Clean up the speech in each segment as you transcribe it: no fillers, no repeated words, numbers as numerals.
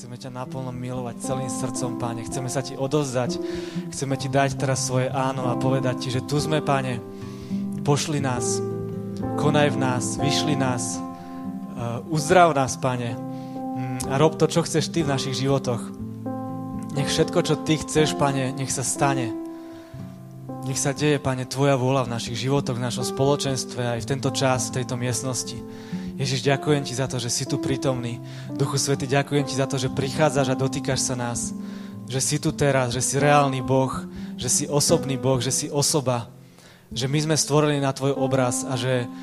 Chceme ťa naplno milovať celým srdcom, Pane. Chceme sa ti odovzdať. Chceme ti dať teraz svoje áno a povedať ti, že tu sme, Pane. Pošli nás. Konaj v nás. Vyšli nás. Uzdrav nás, Pane. A rob to, čo chceš ty v našich životoch. Nech všetko, čo ty chceš, Pane, nech sa stane. Nech sa deje, Pane, tvoja vôľa v našich životoch, v našom spoločenstve, aj v tento čas, v tejto miestnosti. Ježiš, ďakujem ti za to, že si tu prítomný. Duchu Svätý, ďakujem ti za to, že prichádzaš a dotýkaš sa nás. Že si tu teraz, že si reálny Boh, že si osobný Boh, že si osoba. Že my sme stvorení na tvoj obraz a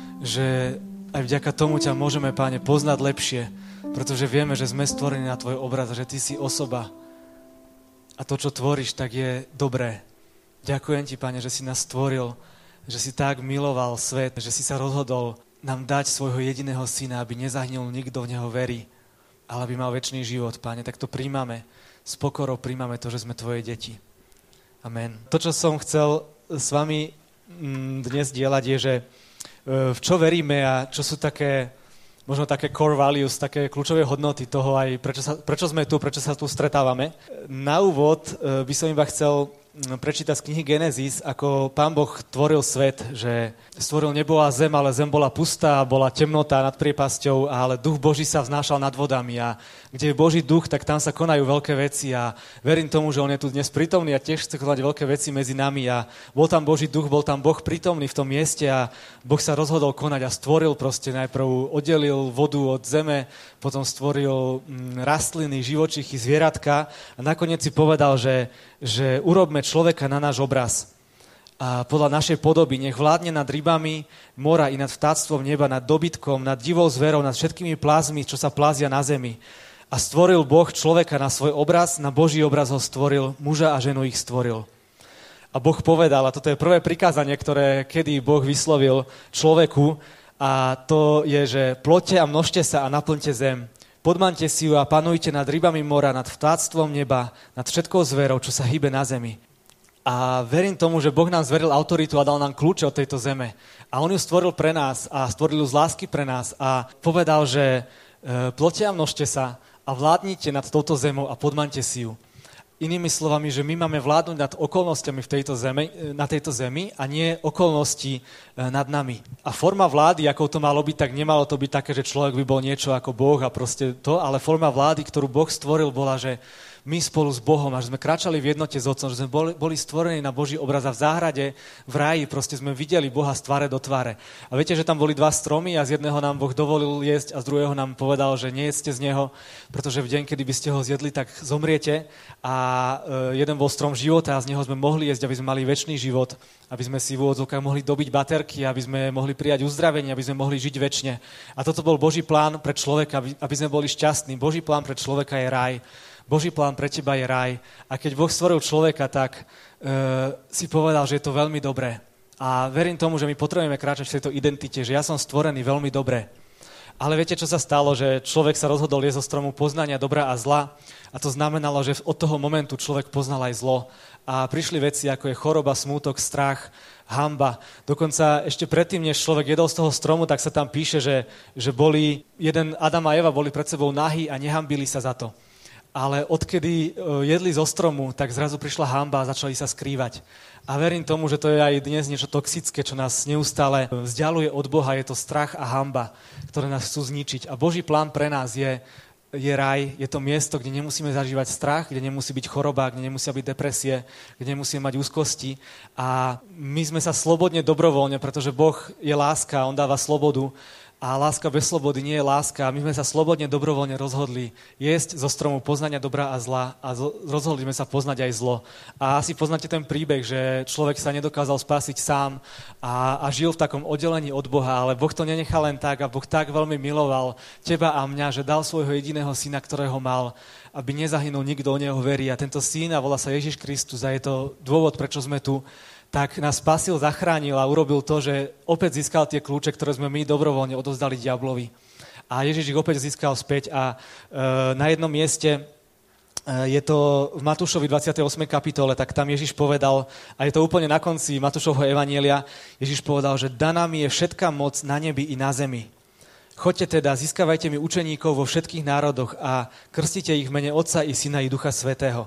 že aj vďaka tomu ťa môžeme, Páne, poznať lepšie, pretože vieme, že sme stvorení na tvoj obraz a že ty si osoba. A to, čo tvoríš, tak je dobré. Ďakujem ti, Pane, že si nás stvoril, že si tak miloval svet, že si sa rozhodol nám dať svojho jediného syna, aby nezahynul nikto v neho verí, ale aby mal večný život, Pane. Tak to príjmame, s pokorou príjmame to, že sme tvoje deti. Amen. To, čo som chcel s vami dnes dielať, je, že v čo veríme a čo sú také, možno také core values, také kľúčové hodnoty toho aj, prečo sme tu, prečo sa tu stretávame. Na úvod by som iba chcel prečítať z knihy Genesis, ako Pán Boh tvoril svet, že stvoril nebo a zem, ale zem bola pustá, bola temnota nad priepasťou, ale duch Boží sa vznášal nad vodami a kde je Boží duch, tak tam sa konajú veľké veci a verím tomu, že on je tu dnes prítomný a tiež chce konať veľké veci medzi nami a bol tam Boží duch, bol tam Boh prítomný v tom mieste a Boh sa rozhodol konať a stvoril proste, najprv oddelil vodu od zeme, potom stvoril rastliny, živočichy, zvieratka a nakoniec si povedal, že urobme človeka na náš obraz a podľa našej podoby, nech vládne nad rybami mora i nad vtáctvom neba, nad dobytkom, nad divou zverou, nad všetkými plázmi, čo sa plázia na zemi. A stvoril Boh človeka na svoj obraz, na Boží obraz ho stvoril, muža a ženu ich stvoril. A Boh povedal, a toto je prvé prikázanie, ktoré kedy Boh vyslovil človeku, a to je, že ploďte a množte sa a naplňte zem. Podmaňte si ju a panujte nad rybami mora, nad vtáctvom neba, nad všetkou zverou, čo sa hýbe na zemi. A verím tomu, že Boh nám zveril autoritu a dal nám kľúče od tejto zeme. A on ju stvoril pre nás a stvoril ju z lásky pre nás a povedal, že ploďte a množte sa a vládnite nad touto zemou a podmaňte si ju. Inými slovami, že my máme vládnuť nad okolnostiami na tejto zemi a nie okolnosti nad nami. A forma vlády, ako to malo byť, tak nemalo to byť také, že človek by bol niečo ako Boh a proste to, ale forma vlády, ktorú Boh stvoril, bola, že my spolu s Bohom, a že sme kráčali v jednote s Otcom, že sme boli stvorení na Boží obraz a v záhrade, v ráji, proste sme videli Boha z tváre do tváre. A viete, že tam boli dva stromy a z jedného nám Boh dovolil jesť a z druhého nám povedal, že nejedzte z neho, pretože v deň, kedy by ste ho zjedli, tak zomriete. A jeden bol strom života a z neho sme mohli jesť, aby sme mali večný život, aby sme si v úvodzovkách mohli dobiť baterky, aby sme mohli prijať uzdravenie, aby sme mohli žiť večne. A toto bol Boží plán pre človeka, aby sme boli šťastní. Boží plán pre človeka je raj. Boží plán pre teba je raj. A keď Boh stvoril človeka, tak si povedal, že je to veľmi dobré. A verím tomu, že my potrebujeme kráčať v tejto identite, že ja som stvorený veľmi dobre. Ale viete, čo sa stalo? Že človek sa rozhodol jesť zo stromu poznania dobra a zla. A to znamenalo, že od toho momentu človek poznal aj zlo. A prišli veci, ako je choroba, smútok, strach, hanba. Dokonca ešte predtým, než človek jedol z toho stromu, tak sa tam píše, že Adam a Eva boli pred sebou nahí a nehambili sa za to. Ale odkedy jedli zo stromu, tak zrazu prišla hanba a začali sa skrývať. A verím tomu, že to je aj dnes niečo toxické, čo nás neustále vzdialuje od Boha. Je to strach a hanba, ktoré nás chcú zničiť. A Boží plán pre nás je raj, je to miesto, kde nemusíme zažívať strach, kde nemusí byť choroba, kde nemusia byť depresie, kde nemusíme mať úzkosti. A my sme sa slobodne, dobrovoľne, pretože Boh je láska, on dáva slobodu. A láska bez slobody nie je láska. A my sme sa slobodne, dobrovoľne rozhodli jesť zo stromu poznania dobra a zla a rozhodli sme sa poznať aj zlo. A asi poznáte ten príbeh, že človek sa nedokázal spásiť sám a žil v takom oddelení od Boha, ale Boh to nenechal len tak a Boh tak veľmi miloval teba a mňa, že dal svojho jediného syna, ktorého mal, aby nezahynul nikto, o neho verí. A tento syn, a volá sa Ježiš Kristus a je to dôvod, prečo sme tu, tak nás spasil, zachránil a urobil to, že opäť získal tie kľúče, ktoré sme my dobrovoľne odovzdali diablovi. A Ježiš ich opäť získal späť a na jednom mieste je to v Matúšovi 28. kapitole, tak tam Ježiš povedal, a je to úplne na konci Matúšovho evanjelia, Ježiš povedal, že daná mi je všetká moc na nebi i na zemi. Choďte teda, získavajte mi učeníkov vo všetkých národoch a krstite ich v mene Otca i Syna i Ducha Svätého.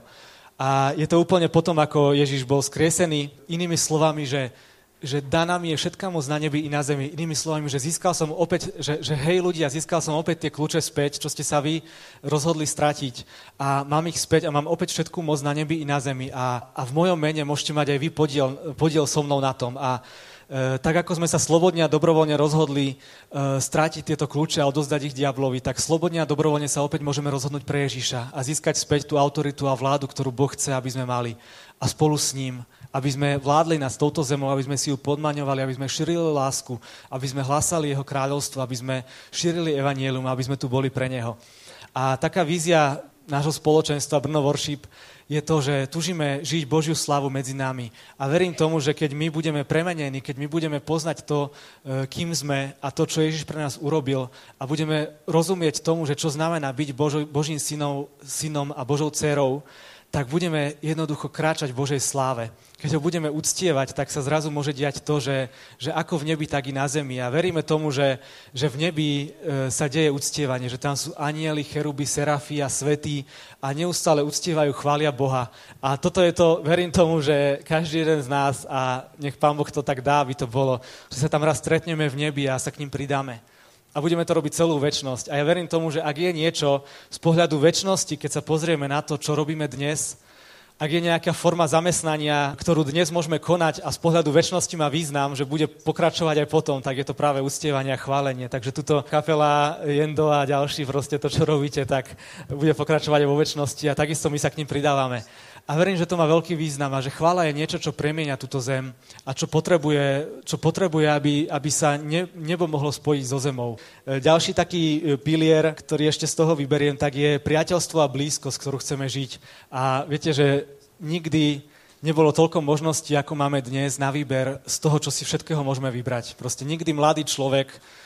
A je to úplne potom, ako Ježiš bol skriesený, inými slovami, že daná mi je všetká moc na nebi i na zemi. Inými slovami, že získal som opäť, že hej ľudia, získal som opäť tie kľúče späť, čo ste sa vy rozhodli stratiť. A mám ich späť a mám opäť všetkú moc na nebi i na zemi. A v mojom mene môžete mať aj vy podiel so mnou na tom. A tak ako sme sa slobodne a dobrovoľne rozhodli strátiť tieto kľúče a odozdať ich diablovi, tak slobodne a dobrovoľne sa opäť môžeme rozhodnúť pre Ježiša a získať späť tú autoritu a vládu, ktorú Boh chce, aby sme mali. A spolu s ním, aby sme vládli nad touto zemou, aby sme si ju podmaňovali, aby sme šírili lásku, aby sme hlásali jeho kráľovstvo, aby sme šírili evanjelium, aby sme tu boli pre neho. A taká vízia nášho spoločenstva Brno Worship je to, že túžime žiť Božiu slavu medzi nami. A verím tomu, že keď my budeme premenení, keď my budeme poznať to, kým sme a to, čo Ježiš pre nás urobil a budeme rozumieť tomu, že čo znamená byť Božím synom a Božou dcérou, tak budeme jednoducho kráčať v Božej sláve. Keď ho budeme uctievať, tak sa zrazu môže diať to, že ako v nebi, tak i na zemi. A veríme tomu, že v nebi sa deje uctievanie, že tam sú anjeli, cheruby, serafí a svätí a neustále uctievajú, chvália Boha. A toto je to, verím tomu, že každý jeden z nás, a nech Pán Boh to tak dá, aby to bolo, že sa tam raz stretneme v nebi a sa k ním pridáme. A budeme to robiť celú večnosť. A ja verím tomu, že ak je niečo z pohľadu večnosti, keď sa pozrieme na to, čo robíme dnes, ak je nejaká forma zamestnania, ktorú dnes môžeme konať a z pohľadu večnosti má význam, že bude pokračovať aj potom, tak je to práve uctievanie a chválenie. Takže tuto kapela Jendo a ďalší, proste to, čo robíte, tak bude pokračovať aj vo večnosti a takisto my sa k ním pridávame. A verím, že to má veľký význam a že chvála je niečo, čo premieňa túto zem a čo potrebuje, aby sa nebo mohlo spojiť so zemou. Ďalší taký pilier, ktorý ešte z toho vyberiem, tak je priateľstvo a blízkosť, ktorú chceme žiť. A viete, že nikdy nebolo toľko možností, ako máme dnes na výber z toho, čo si všetkého môžeme vybrať. Proste nikdy mladý človek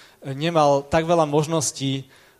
nemal tak veľa možností,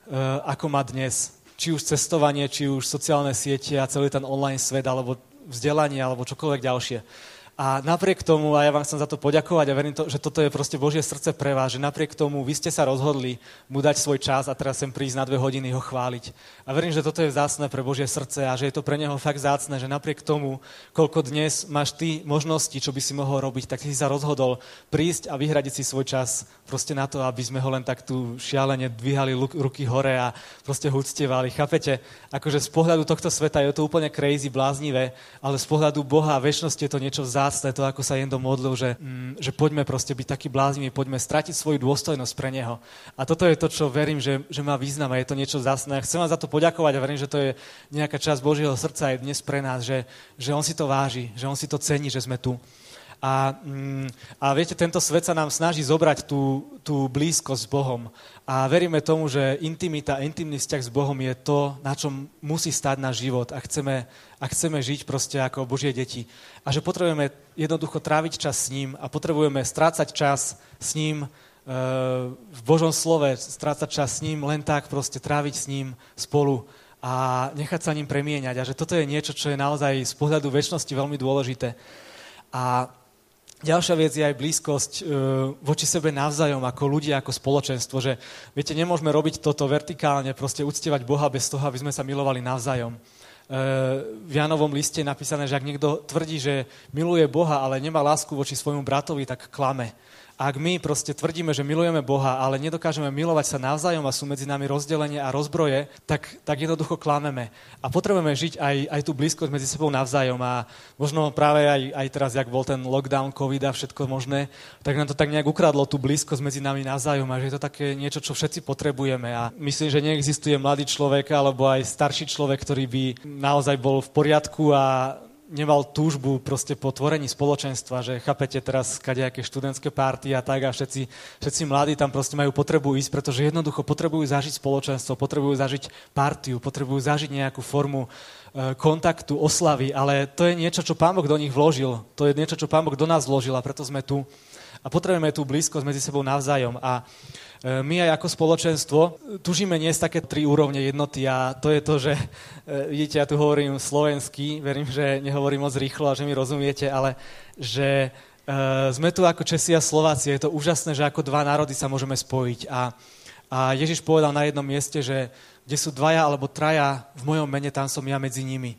ako má dnes. Či už cestovanie, či už sociálne siete a celý ten online svet, alebo vzdelanie, alebo čokoľvek ďalšie. A napriek tomu, a ja vám chcem za to poďakovať a verím, že toto je proste Božie srdce pre vás, že napriek tomu vy ste sa rozhodli mu dať svoj čas a teraz sem prísť na 2 hodiny ho chváliť. A verím, že toto je vzácne pre Božie srdce a že je to pre neho fakt vzácne, že napriek tomu, koľko dnes máš ty možností, čo by si mohol robiť, tak si sa rozhodol prísť a vyhradiť si svoj čas proste na to, aby sme ho len tak tu šialene dvíhali ruky hore a proste ho uctievali. Chápete? Akože z pohľadu tohto sveta je to úplne crazy, bláznivé, ale z pohľadu Boha a večnosti je to niečo vzácne, to ako sa Jendo modlil, že poďme proste byť takí blázniví, poďme stratiť svoju dôstojnosť pre neho. A toto je to, čo verím, že má význam a je to niečo vzácne. Chcem vám za to poďakovať a verím, že to je nejaká časť Božieho srdca aj dnes pre nás, že on si to váži, že on si to cení, že sme tu. A viete, tento svet sa nám snaží zobrať tú blízkosť s Bohom. A veríme tomu, že intimita, intimný vzťah s Bohom je to, na čom musí stáť náš život a chceme žiť proste ako Božie deti. A že potrebujeme jednoducho tráviť čas s ním a potrebujeme strácať čas s ním v Božom slove, strácať čas s ním, len tak proste tráviť s ním spolu a nechať sa ním premieňať. A že toto je niečo, čo je naozaj z pohľadu večnosti veľmi dôležité. A ďalšia vec je aj blízkosť voči sebe navzájom, ako ľudia, ako spoločenstvo, že viete, nemôžeme robiť toto vertikálne, proste uctievať Boha bez toho, aby sme sa milovali navzájom. V Jánovom liste je napísané, že ak niekto tvrdí, že miluje Boha, ale nemá lásku voči svojmu bratovi, tak klame. A ak my proste tvrdíme, že milujeme Boha, ale nedokážeme milovať sa navzájom a sú medzi nami rozdelenie a rozbroje, tak jednoducho klameme. A potrebujeme žiť aj tú blízkosť medzi sebou navzájom. A možno práve aj teraz, jak bol ten lockdown, covid a všetko možné, tak nám to tak nejak ukradlo tú blízkosť medzi nami navzájom. A že je to také niečo, čo všetci potrebujeme. A myslím, že neexistuje mladý človek alebo aj starší človek, ktorý by naozaj bol v poriadku a nemal túžbu proste po tvorení spoločenstva, že chápete teraz kadejaké študentské párty a tak a všetci mladí tam proste majú potrebu ísť, pretože jednoducho potrebujú zažiť spoločenstvo, potrebujú zažiť partiu, potrebujú zažiť nejakú formu kontaktu, oslavy, ale to je niečo, čo Pán Boh do nich vložil, to je niečo, čo Pán Boh do nás vložil a preto sme tu a potrebujeme tú blízkosť medzi sebou navzájom a my aj ako spoločenstvo tužíme niesť také 3 úrovne jednoty a to je to, že vidíte, ja tu hovorím slovensky, verím, že nehovorím moc rýchlo a že mi rozumiete, ale že sme tu ako Česi a Slováci, je to úžasné, že ako 2 národy sa môžeme spojiť a A Ježiš povedal na jednom mieste, že kde sú dvaja alebo traja v mojom mene, tam som ja medzi nimi.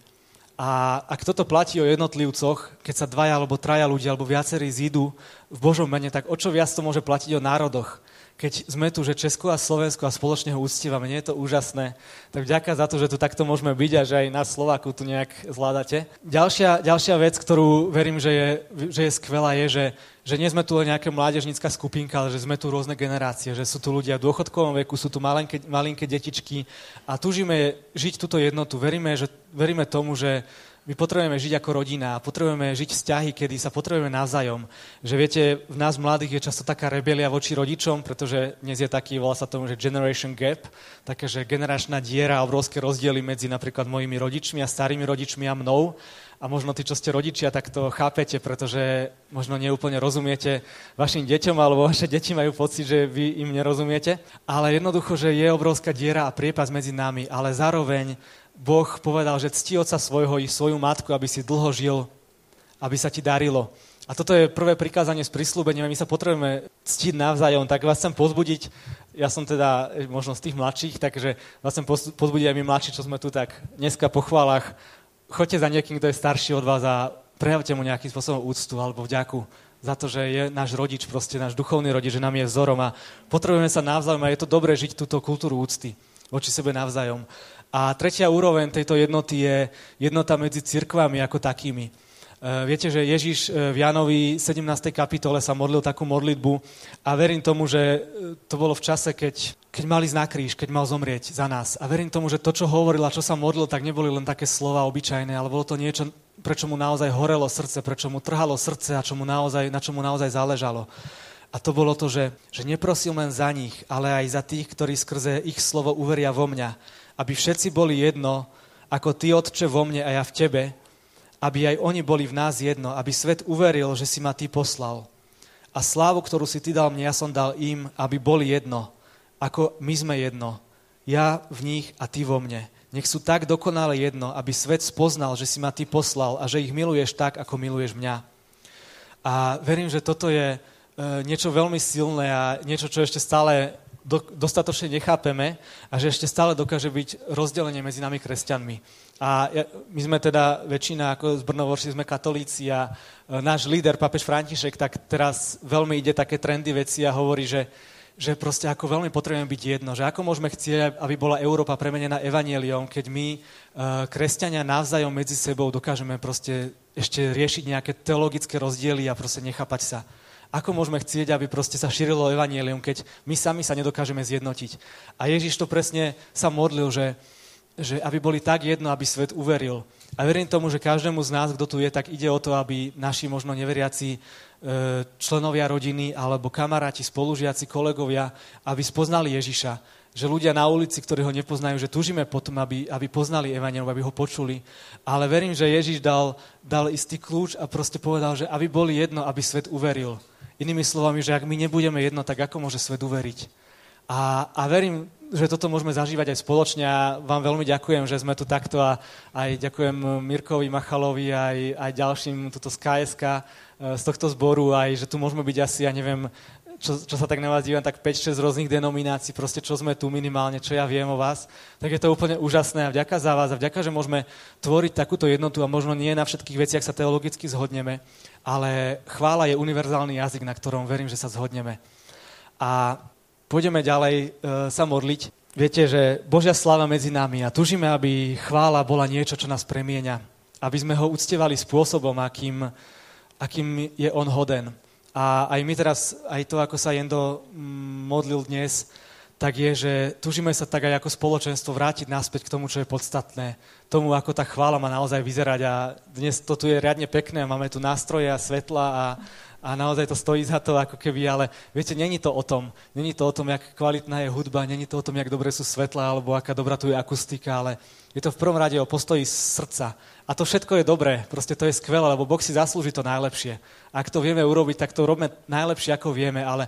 A ak toto platí o jednotlivcoch, keď sa dvaja alebo traja ľudia alebo viacerí zídu v Božom mene, tak o čo viac to môže platiť o národoch? Keď sme tu, že Česko a Slovensko a spoločne ho uctívame, nie je to úžasné? Tak vďaka za to, že tu takto môžeme byť a že aj nás Slováku tu nejak zvládate. Ďalšia vec, ktorú verím, že je skvelá, je, že nie sme tu len nejaká mládežnícka skupinka, ale že sme tu rôzne generácie, že sú tu ľudia v dôchodkovom veku, sú tu malinké detičky a túžime žiť túto jednotu. Veríme tomu, že my potrebujeme žiť ako rodina a potrebujeme žiť vzťahy, kedy sa potrebujeme navzájom. Že viete, v nás mladých je často taká rebelia voči rodičom, pretože dnes je taký, volá sa tomu, že generation gap, také, že generačná diera a obrovské rozdiely medzi napríklad mojimi rodičmi a starými rodičmi a mnou. A možno tí, čo ste rodičia, tak to chápete, pretože možno neúplne rozumiete vašim deťom, alebo vaše deti majú pocit, že vy im nerozumiete. Ale jednoducho, že je obrovská diera a priepas medzi nami, ale zároveň Boh povedal, že cti otca svojho i svoju matku, aby si dlho žil, aby sa ti darilo. A toto je prvé prikázanie s prisľúbením, my sa potrebujeme ctiť navzájom, tak vás chcem pozbudiť, ja som teda možno z tých mladších, takže vás chcem pozbudiť aj my mladší, čo sme tu tak dneska po chválach. Choďte za niekým, kto je starší od vás a prejavte mu nejakým spôsobom úctu alebo vďaku za to, že je náš rodič, proste náš duchovný rodič, že nám je vzorom a potrebujeme sa navzájom a je to dobré žiť túto kultúru úcty voči sebe navzájom. A tretia úroveň tejto jednoty je jednota medzi cirkvami ako takými. Viete, že Ježiš v Jánovi 17. kapitole sa modlil takú modlitbu a verím tomu, že to bolo v čase, keď mal ísť na kríž, keď mal zomrieť za nás. A verím tomu, že to, čo hovoril a čo sa modlil, tak neboli len také slova obyčajné, ale bolo to niečo, prečo mu naozaj horelo srdce, prečo mu trhalo srdce a na čomu naozaj záležalo. A to bolo to, že neprosil len za nich, ale aj za tých, ktorí skrze ich slovo uveria vo mňa. Aby všetci boli jedno, ako ty, Otče, vo mne a ja v tebe, aby aj oni boli v nás jedno, aby svet uveril, že si ma ty poslal. A slávu, ktorú si ty dal mne, ja som dal im, aby boli jedno, ako my sme jedno. Ja v nich a ty vo mne. Nech sú tak dokonale jedno, aby svet spoznal, že si ma ty poslal a že ich miluješ tak, ako miluješ mňa. A verím, že toto je niečo veľmi silné a niečo, čo ešte stále dostatočne nechápeme a že ešte stále dokáže byť rozdelenie medzi nami kresťanmi. A my sme teda väčšina, ako z Brnovorši sme katolíci a náš líder, pápež František, tak teraz veľmi ide také trendy veci a hovorí, že proste ako veľmi potrebujeme byť jedno, že ako môžeme chcieť, aby bola Európa premenená evanjeliom, keď my, kresťania, navzájom medzi sebou dokážeme proste ešte riešiť nejaké teologické rozdiely a proste nechápať sa. Ako môžeme chcieť, aby proste sa šírilo evanjelium, keď my sami sa nedokážeme zjednotiť. A Ježiš to presne sa modlil, že aby boli tak jedno, aby svet uveril. A verím tomu, že každému z nás, kto tu je, tak ide o to, aby naši možno neveriaci členovia rodiny alebo kamaráti, spolužiaci, kolegovia, aby spoznali Ježiša. Že ľudia na ulici, ktorí ho nepoznajú, že túžime potom, aby poznali evanjelium, aby ho počuli. Ale verím, že Ježiš dal istý kľúč a proste povedal, že aby boli jedno, aby svet uveril. Inými slovami, že ak my nebudeme jedno, tak ako môže svet uveriť? A verím, že toto môžeme zažívať aj spoločne a vám veľmi ďakujem, že sme tu takto a aj ďakujem Mirkovi Machalovi, aj ďalším tuto z KSK, z tohto zboru, aj že tu môžeme byť asi, ja neviem, čo sa tak na vás dívam, tak 5-6 rôznych denominácií, proste čo sme tu minimálne, čo ja viem o vás, tak je to úplne úžasné a vďaka za vás a vďaka, že môžeme tvoriť takúto jednotu a možno nie na všetkých veciach sa teologicky zhodneme, ale chvála je univerzálny jazyk, na ktorom verím, že sa zhodneme. A pôjdeme ďalej sa modliť. Viete, že Božia sláva medzi nami a tužíme, aby chvála bola niečo, čo nás premieňa. Aby sme ho uctievali spôsobom, akým je on hoden. A aj my teraz, aj to, ako sa Jendo modlil dnes, tak je, že tužíme sa tak aj ako spoločenstvo vrátiť naspäť k tomu, čo je podstatné. Tomu, ako tá chvála má naozaj vyzerať. A dnes to tu je riadne pekné, máme tu nástroje a svetla a naozaj to stojí za to, ako keby, ale viete, není to o tom. Není to o tom, jak kvalitná je hudba, není to o tom, jak dobre sú svetla, alebo aká dobrá tu je akustika, ale je to v prvom rade o postoji srdca. A to všetko je dobré, proste to je skvelé, lebo Boh si zaslúži to najlepšie. Ak to vieme urobiť, tak to robíme najlepšie, ako vieme, ale v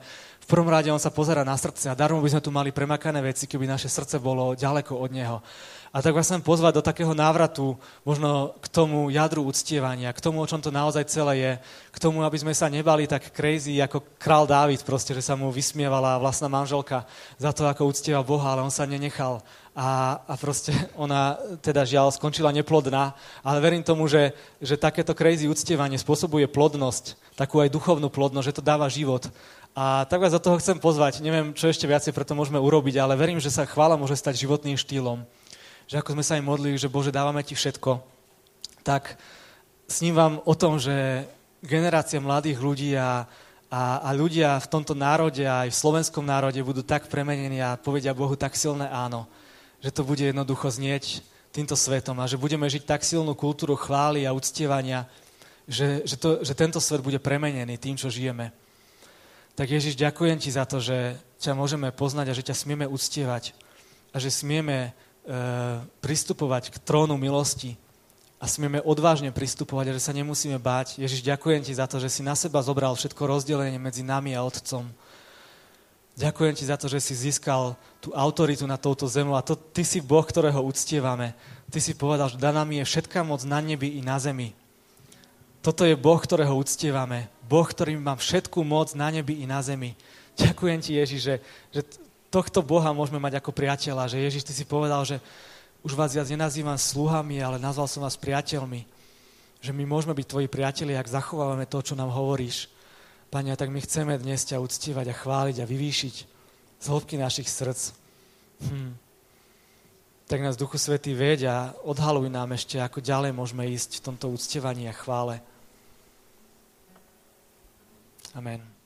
prvom rade on sa pozerá na srdce a darmo by sme tu mali premakané veci, keby naše srdce bolo ďaleko od neho. A tak vás chcem pozvať do takého návratu, možno k tomu jadru uctievania, k tomu, o čom to naozaj celé je, k tomu, aby sme sa nebali tak crazy ako král Dávid, proste, že sa mu vysmievala vlastná manželka za to, ako uctieva Boha, ale on sa nenechal. A proste ona teda žiaľ skončila neplodná, ale verím tomu, že takéto crazy uctievanie spôsobuje plodnosť, takú aj duchovnú plodnosť, že to dáva život. A tak vás do toho chcem pozvať, neviem, čo ešte viacej preto môžeme urobiť, ale verím, že sa chvála môže stať životným štýlom. Že ako sme sa aj modlili, že Bože, dávame ti všetko, tak snívam o tom, že generácia mladých ľudí a ľudia v tomto národe, aj v slovenskom národe budú tak premenení a povedia Bohu tak silné áno, že to bude jednoducho znieť týmto svetom a že budeme žiť tak silnú kultúru chvály a uctievania, že tento svet bude premenený tým, čo žijeme. Tak Ježiš, ďakujem ti za to, že ťa môžeme poznať a že ťa smieme uctievať a že smieme pristupovať k trónu milosti a smieme odvážne pristupovať a že sa nemusíme báť. Ježiš, ďakujem ti za to, že si na seba zobral všetko rozdelenie medzi nami a Otcom. Ďakujem ti za to, že si získal tú autoritu nad touto zemou a ty si Boh, ktorého uctievame. Ty si povedal, že daná mi je všetká moc na nebi i na zemi. Toto je Boh, ktorého uctievame. Boh, ktorý má všetku moc na nebi i na zemi. Ďakujem ti, Ježiš, že tohto Boha môžeme mať ako priateľa, že Ježiš, ty si povedal, že už vás viac nenazývam sluhami, ale nazval som vás priateľmi. Že my môžeme byť tvoji priatelia, ak zachovávame to, čo nám hovoríš. Pane, tak my chceme dnes ťa uctievať a chváliť a vyvýšiť z hĺbky našich srdc. Tak nás, Duchu Svätý, veď a odhaluj nám ešte, ako ďalej môžeme ísť v tomto uctievaní a chvále. Amen.